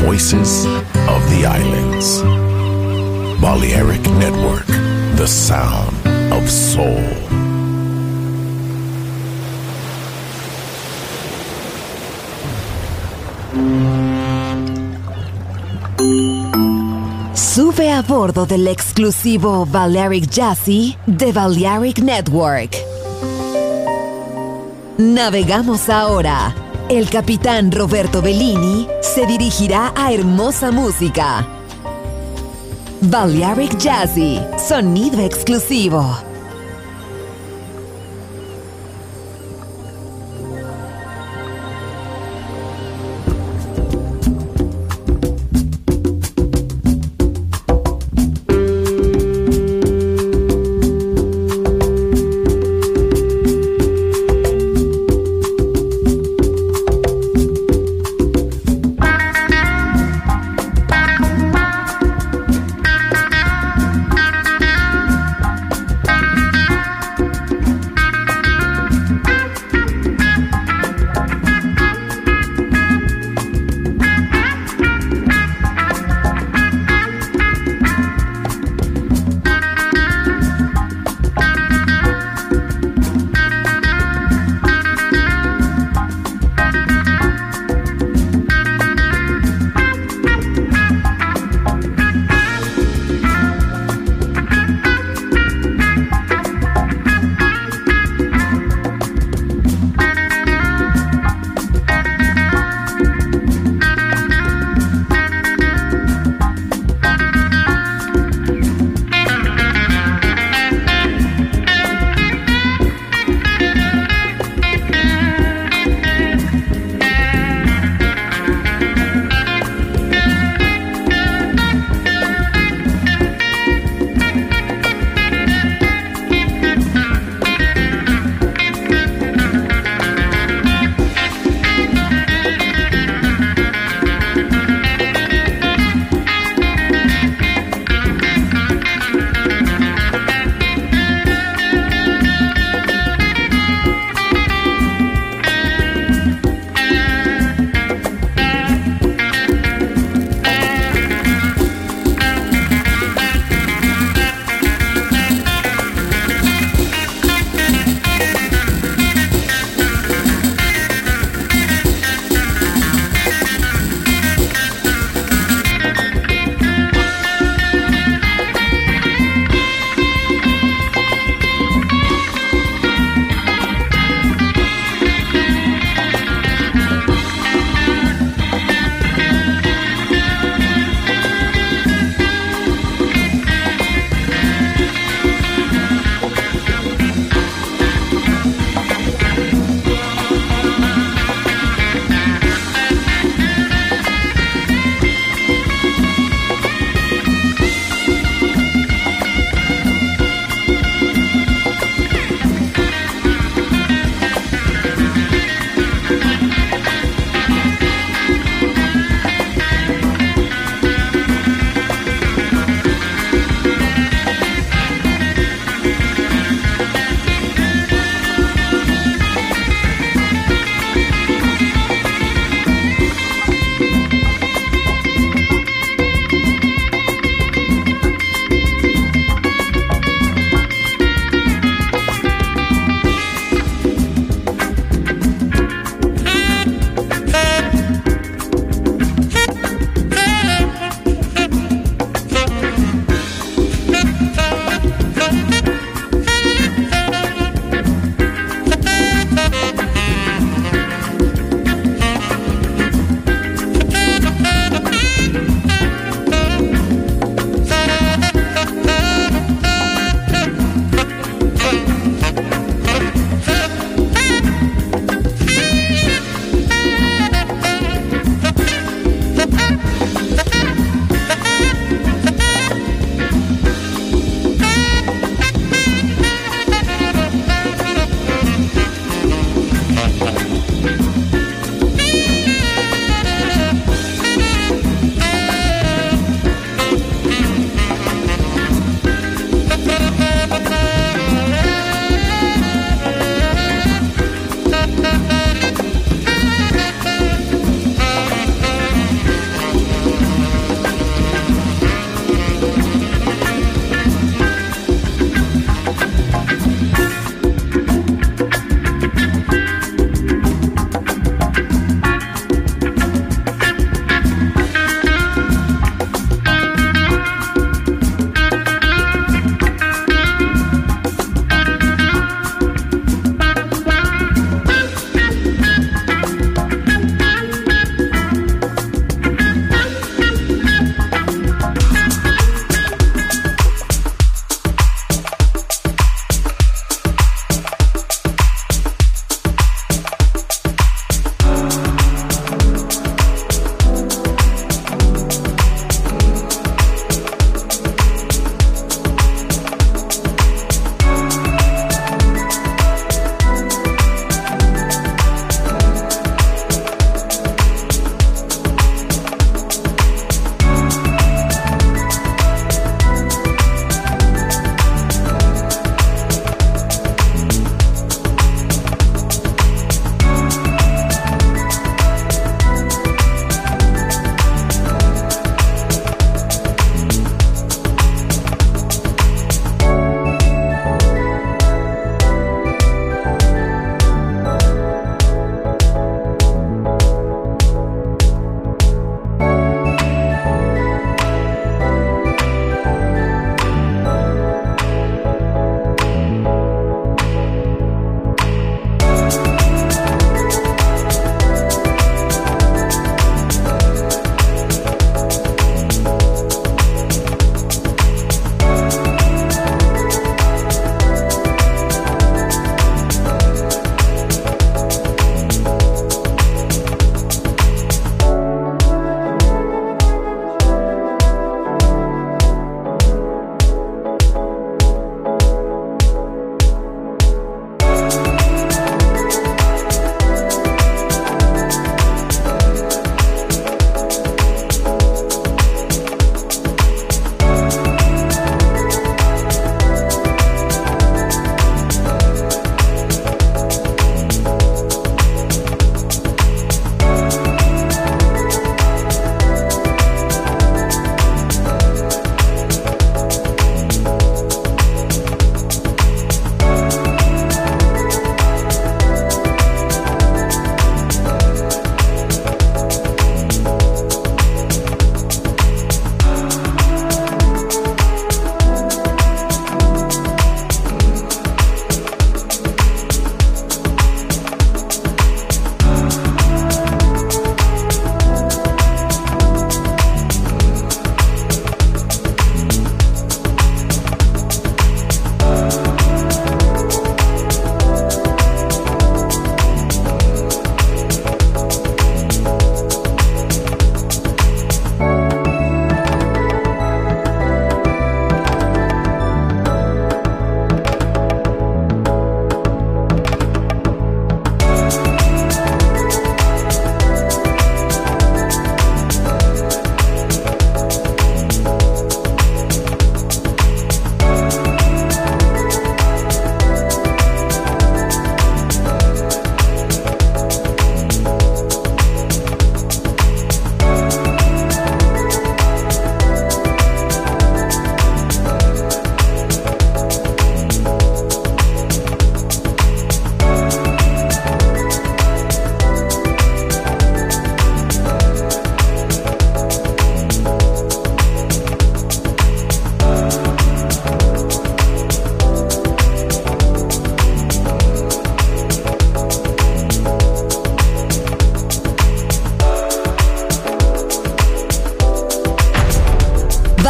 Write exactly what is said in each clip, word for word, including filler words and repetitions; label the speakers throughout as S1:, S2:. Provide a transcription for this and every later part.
S1: voices of the islands. Balearic Network, the sound of soul.
S2: Sube a bordo del exclusivo Balearic Jazzy de Balearic Network. Navegamos ahora. El capitán Roberto Bellini se dirigirá a hermosa música. Balearic Jazzy, sonido exclusivo.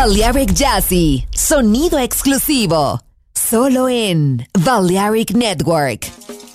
S2: Balearic Jazzy, sonido exclusivo, solo en Balearic Network.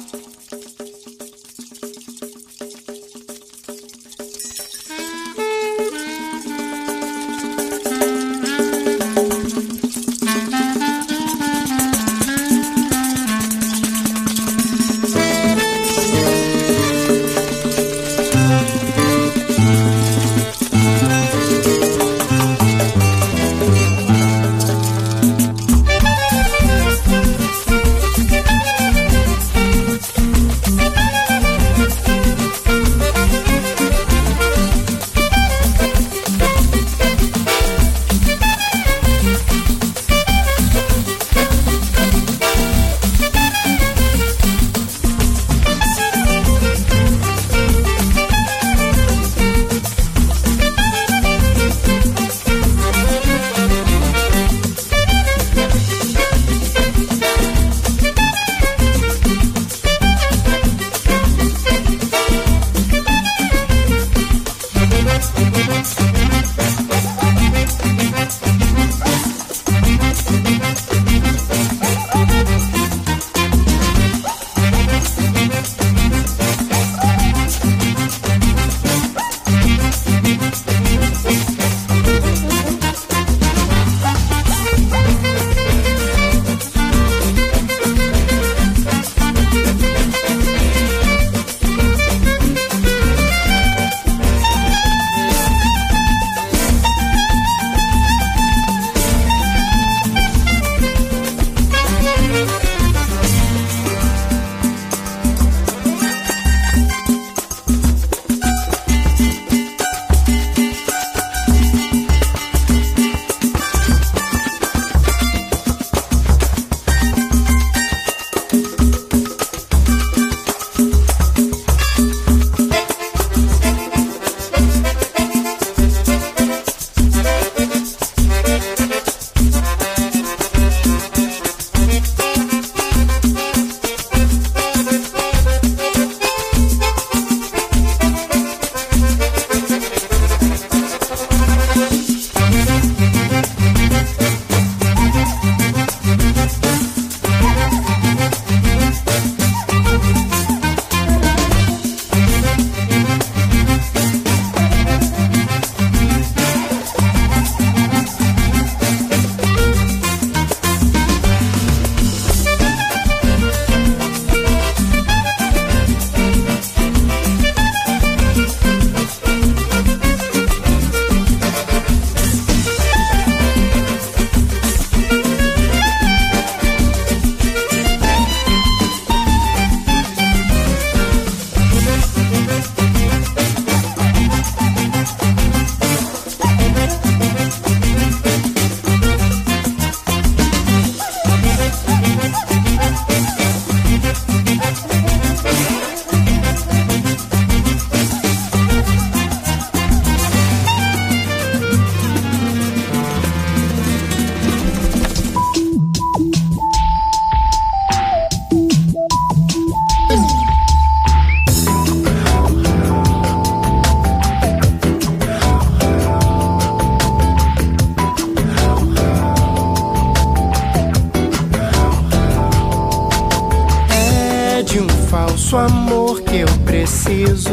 S3: falso amor que eu preciso,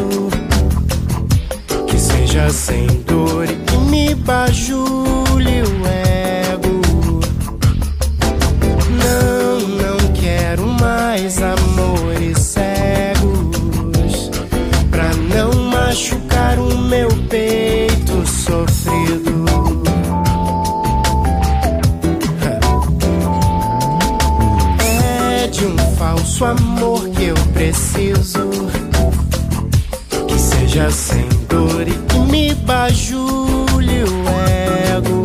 S3: que seja sem dor e que me bajule o ego. Não, não quero mais amores cegos, pra não machucar o meu peito sofrido. É de um falso amor que eu preciso, que seja sem dor e que me bajule o ego.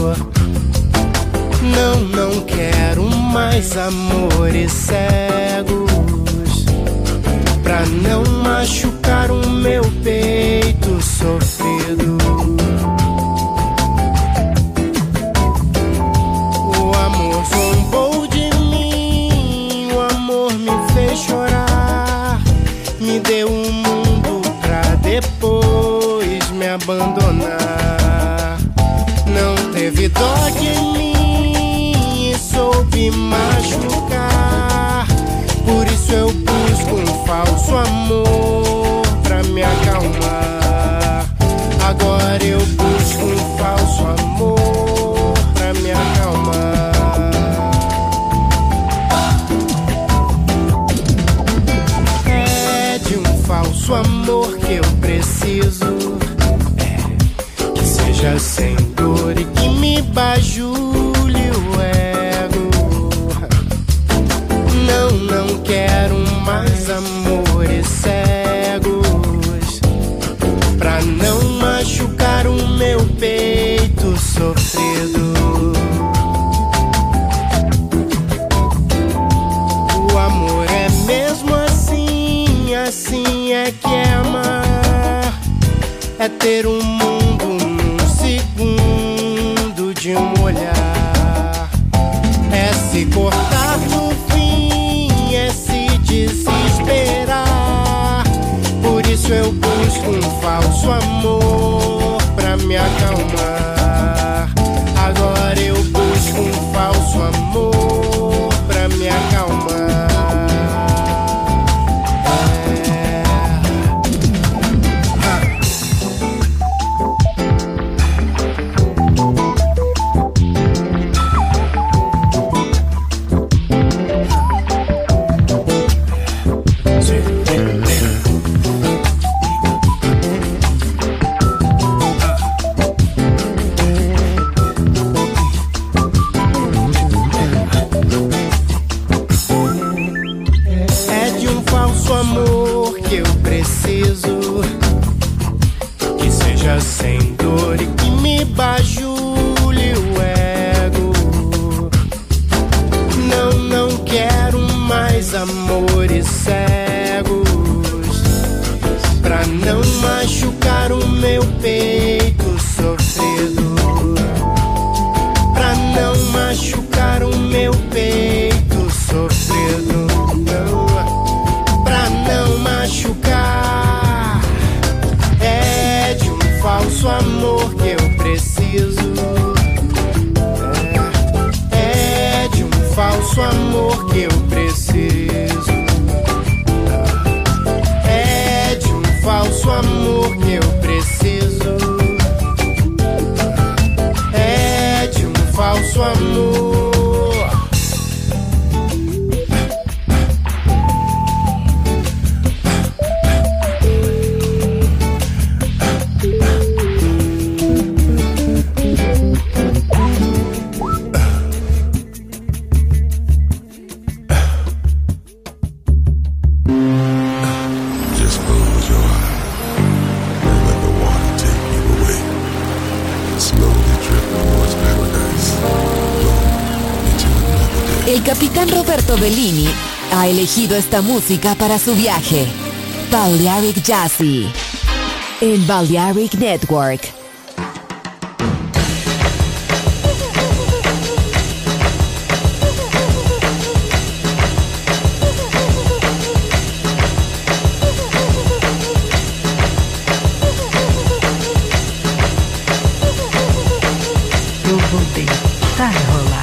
S3: Não, não quero mais amores cegos, pra não machucar o meu peito sofrido. O amor zombou de mim, o amor me fez chorar, me deu um mundo pra depois me abandonar. Não teve dó amor pra me acalmar. Agora eu busco um falso amor pra me acalmar. É de um falso amor que eu preciso, é, que seja sem dor e que me bajule o ego. Não, não quero mais amores cegos pra não machucar o meu peito sofrido. O amor é mesmo assim, assim é que é amar. É ter um mundo num segundo de um olhar. É se cortar no fim, é se desesperar. Por isso eu busco um falso amor pra me acalmar. Agora eu busco um falso amor pra me acalmar. Sem dor e que me bajule o ego. Não, não quero mais amores cegos pra não machucar o meu peito sofrido. Pra não machucar o meu peito sofrido. Não, pra não machucar. É de um falso amor que eu preciso. É, é de um falso amor que eu preciso. É de um falso amor que eu preciso. É de um falso amor.
S2: El capitán Roberto Bellini ha elegido esta música para su viaje. Balearic Jazzy en Balearic Network.
S4: Eu vou deitar e rolar.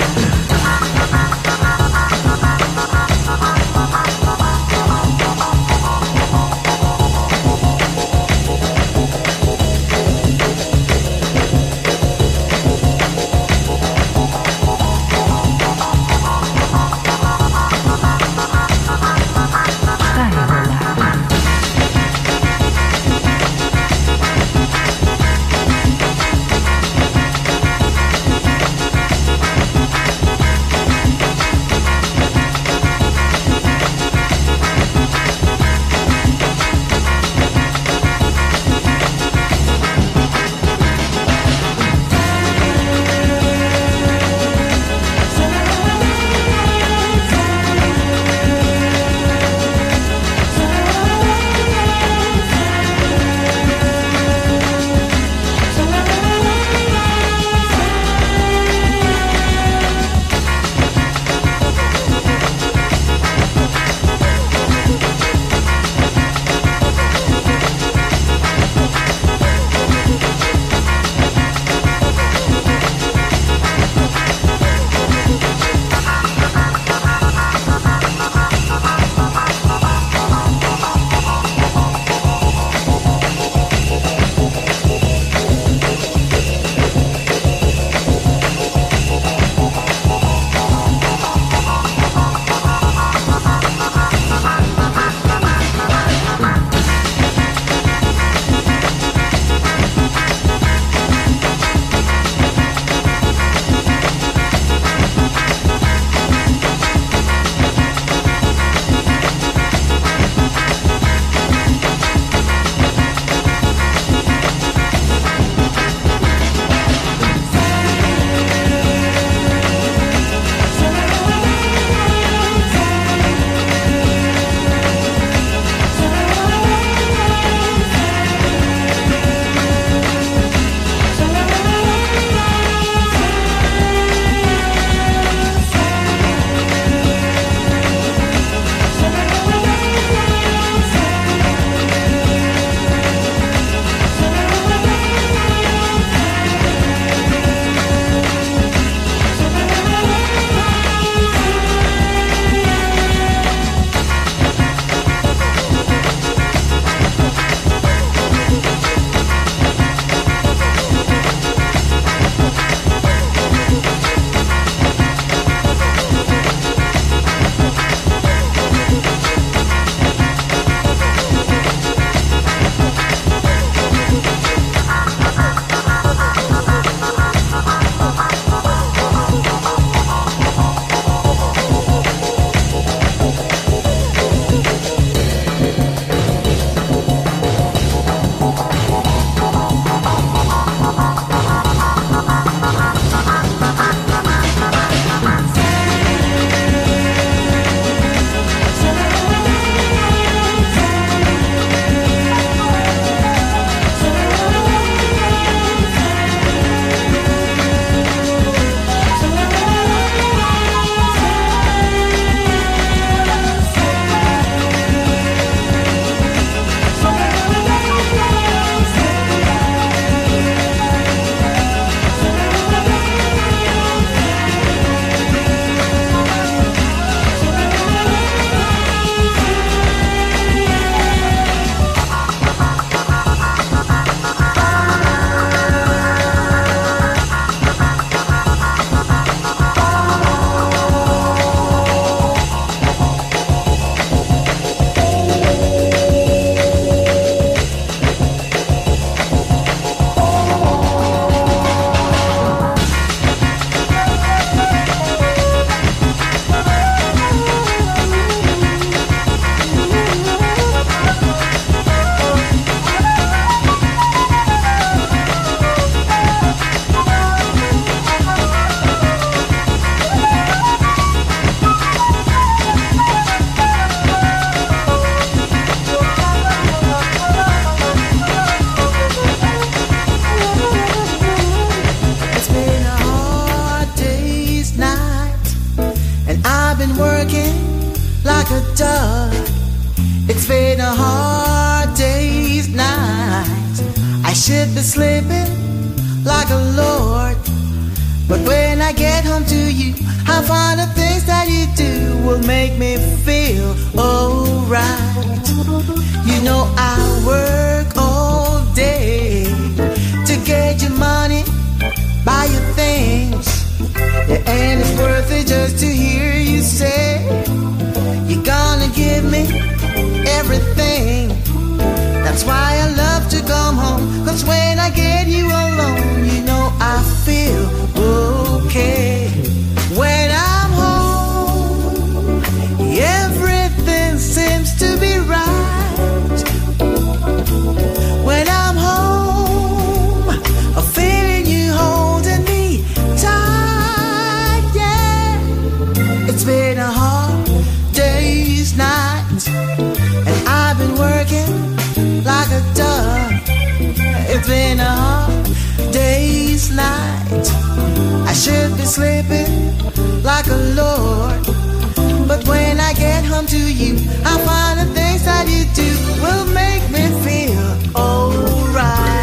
S5: should be sleeping like a lord, but when I get home to you, I find the things that you do will make me feel alright. You know I work all day to get your money, buy your things, yeah, and it's worth it just to hear you say you're gonna give me everything. That's why I love to come home, 'cause when I get you alone, you know I feel okay. When I'm home, everything seems to be right. When I'm home, I'm feeling you holding me tight, yeah. It's been a hard day's night, and I've been working like a dog. It's been a hard day's night. I should be sleeping like a lord, but when I get home to you, I find the things that you do will make me feel alright.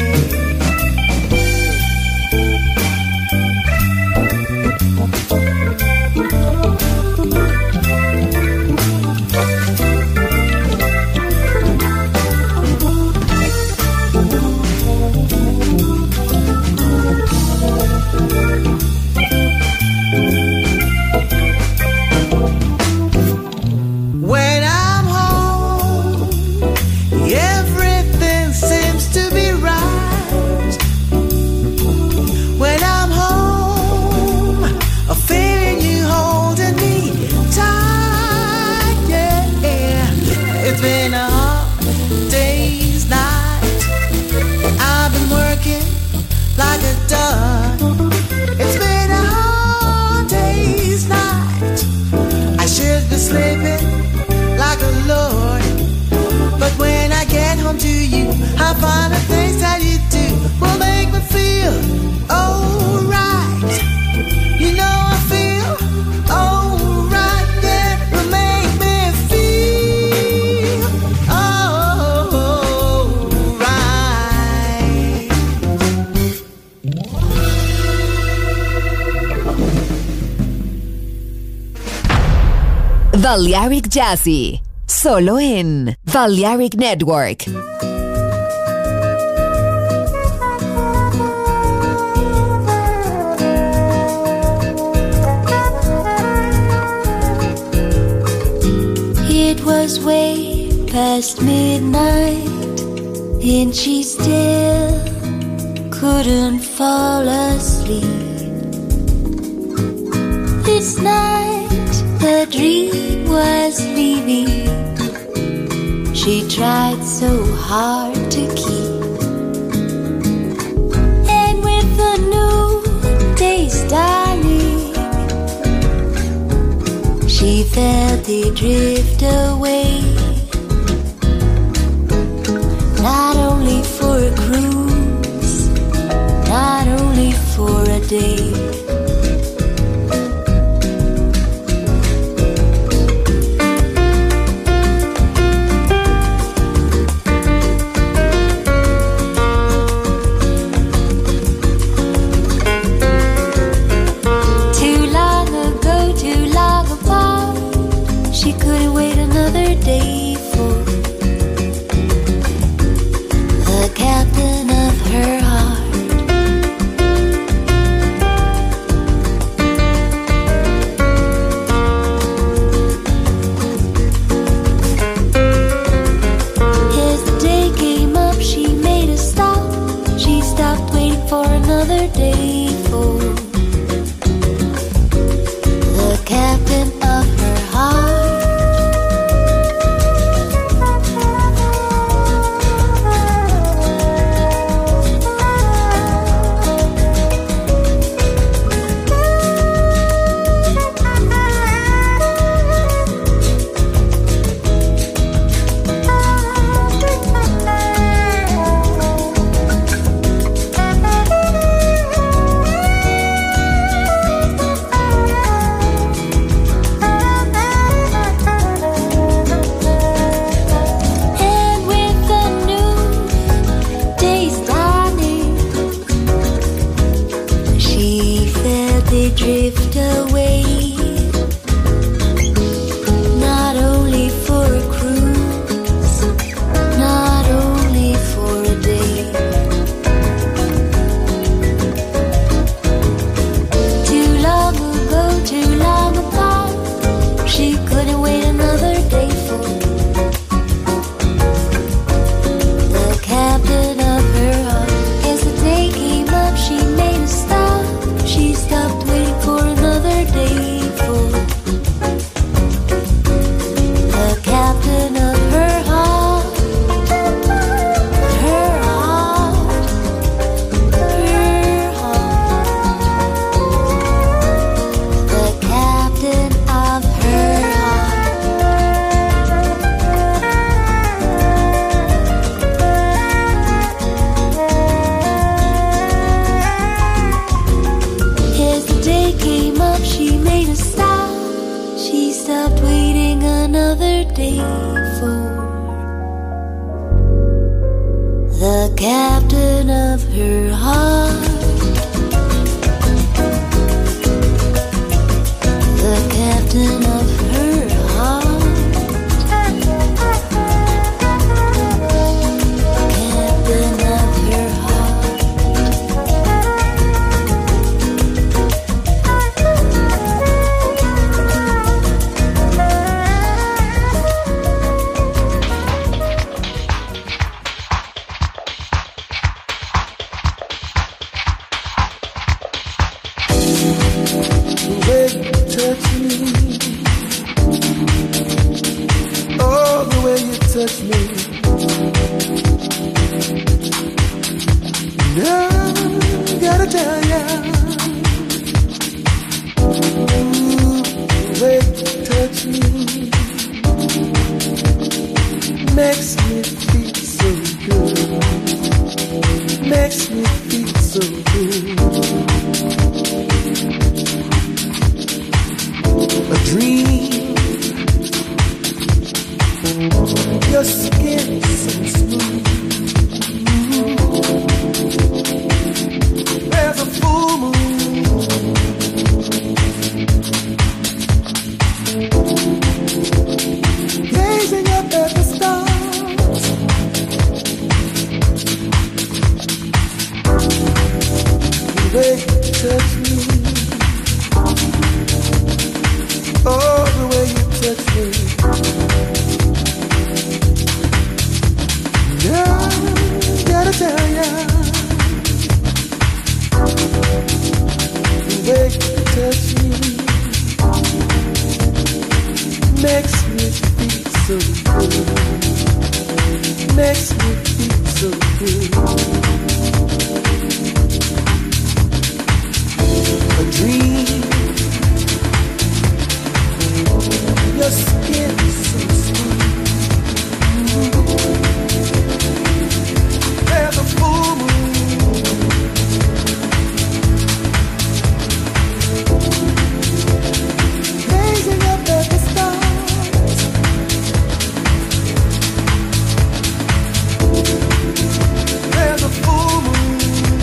S5: When I'm home, everything seems to be right. When I'm home, I'm feeling you holding me tight, yeah. It's been a hard day's night. I've been working like a dog. It's been a hard day's night. I should be sleeping like a lord, but when I get home to you, I find the things that you do will make me feel alright. You know I feel alright, yeah, will make me feel alright.
S2: Balearic Jazzy, solo en Balearic Network.
S6: It was way past midnight, and she still couldn't fall asleep. This night the dream was leaving. She tried so hard to keep, and with the new day's dawning, she felt it drift away. Not only for a cruise, not only for a day. She couldn't wait another day for the captain of her heart. the captain of her heart, the captain of her heart, captain of her heart.
S7: Touch me, no, gotta tell ya, ooh, the way you touch me makes me feel so good, makes me feel so good. A dream. Your skin is so smooth. There's a full moon. Gazing up at the stars. The way you touch me. Oh, the way you touch me. Yeah, gotta tell ya, the way you touch me makes me feel so good, makes me feel so good. A dream, your skin is so smooth. There's a full moon. Gazing up at the stars. There's a full moon.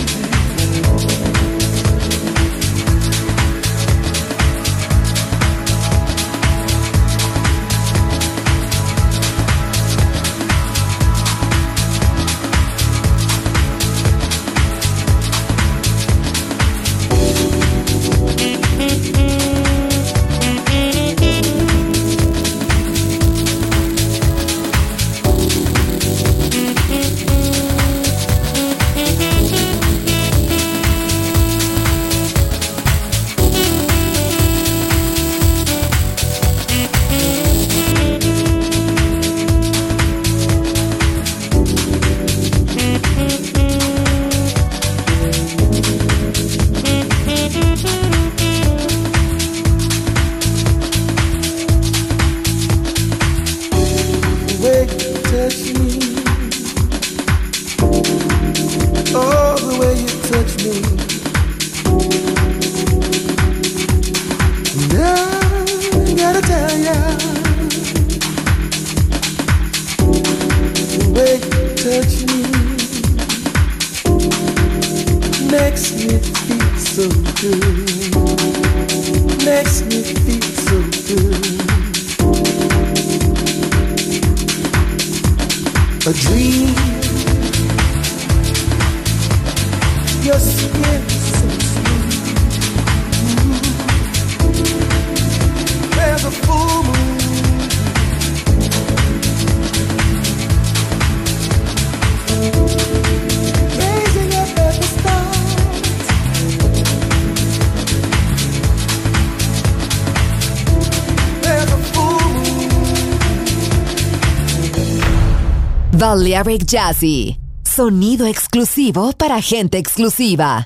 S2: Balearic Jazzy, sonido exclusivo para gente exclusiva.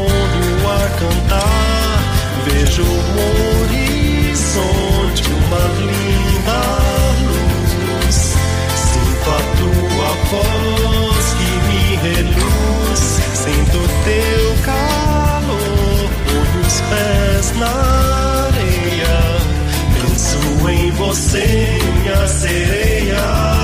S8: no ar cantar. Vejo o horizonte, uma linda luz. Sinto a tua voz que me reluz. Sinto teu calor, ponho os pés na areia. Penso em você, minha sereia.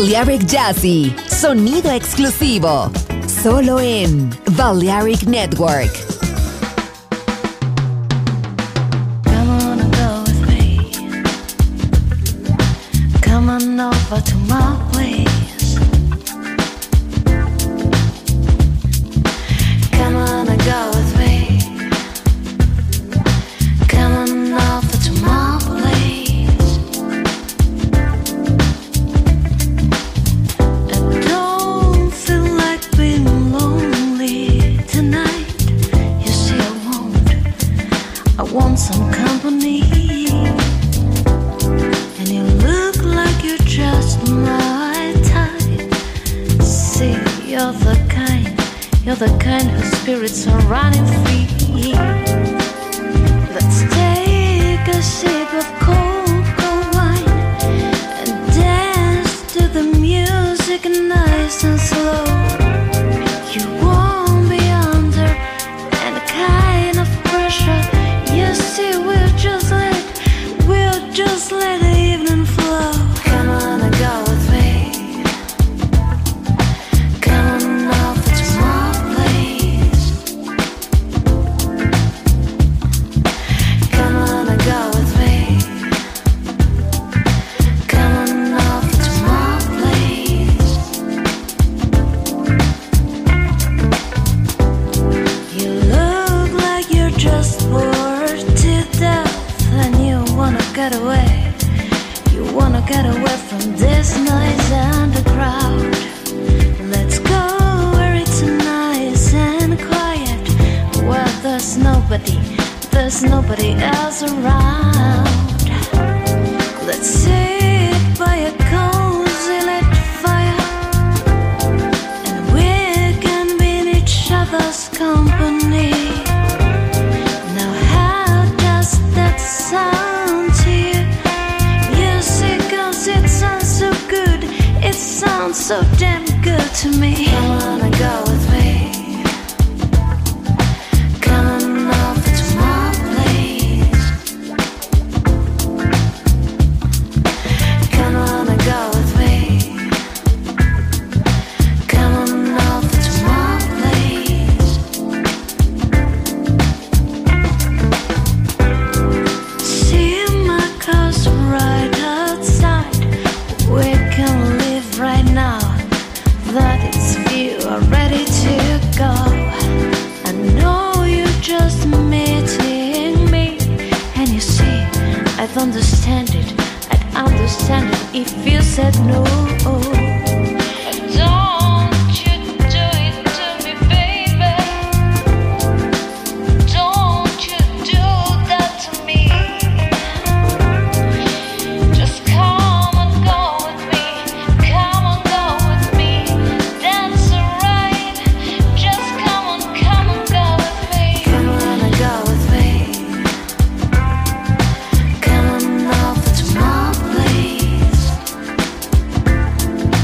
S2: Balearic Jazzy, sonido exclusivo, solo en Balearic Network.
S6: Come on and go with me. Come on over to my place. Come on and go with me. Come on over to my place. I don't feel like being lonely tonight. You see, I won't. I want some company. And you look like you're just my type. See, you're the kind, you're the kind whose spirits are running free. Let's take a sip of cold, cold wine and dance to the music nice and slow. You won't be under any kind of pressure. You see, we'll just let, we'll just let the evening flow. Come on and go with me. Come on over to my place. Come on and go with me. Come on over to my place. You look like you're just bored to death and you wanna get away. You wanna get away from this noise and the crowd. Let's go where it's nice and quiet, where there's nobody, there's nobody else around. Let's sit by a cozy lit fire, and we can be in each other's company. Now how does that sound to you? You see, 'cause it sounds so good, it sounds so damn good to me. Come on and go with me. Come on over to my place. Come on and go with me. Come on over to my place. See my car's right outside. We can leave right now that it's you are ready to go. I know you're just meeting me, and you see, I'd understand it, I'd understand it if you said no. Don't you do it to me, baby. Don't you do that to me. Just come and go with me. Come and go with me. That's alright. Just come on, come and go with me. Come on and go with me. Come on over to my place.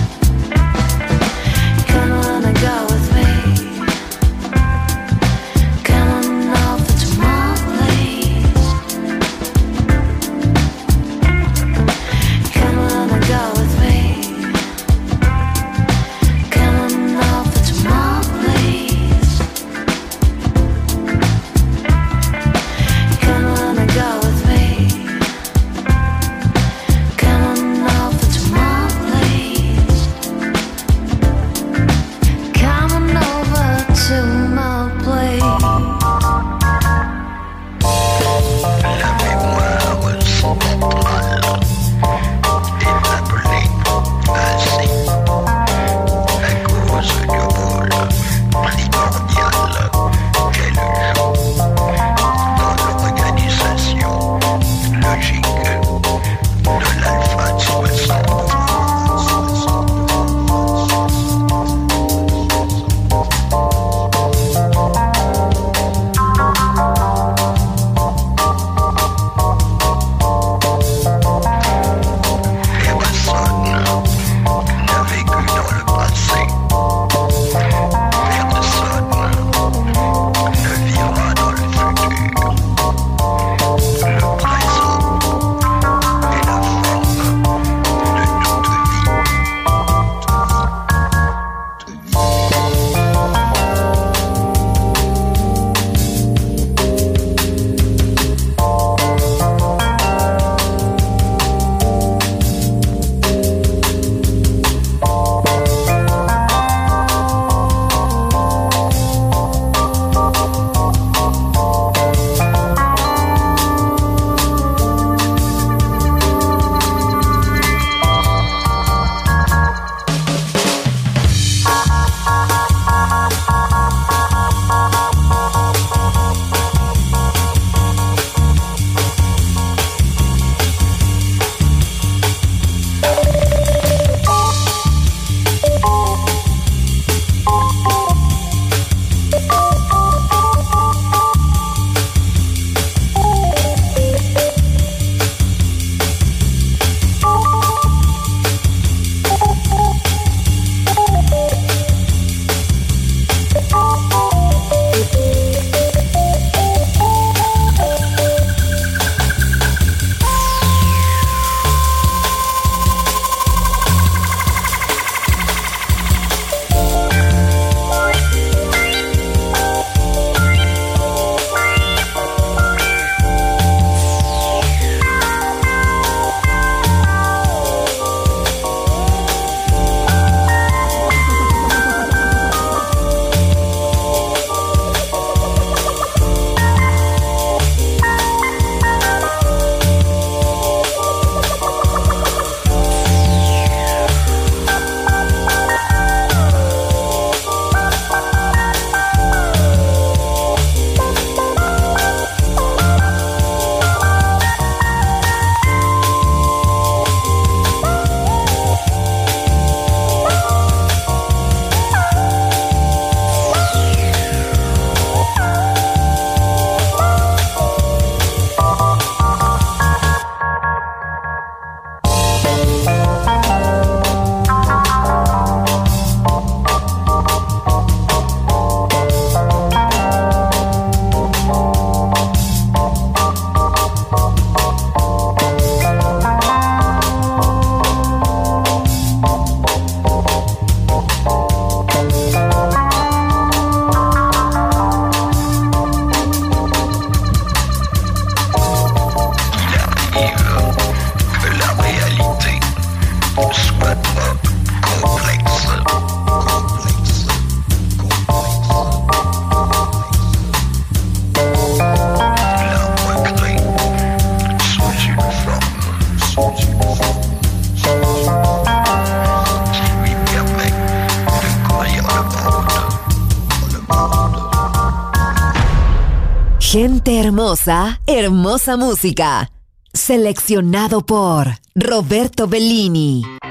S2: Gente hermosa, hermosa música. Seleccionado por Roberto Bellini.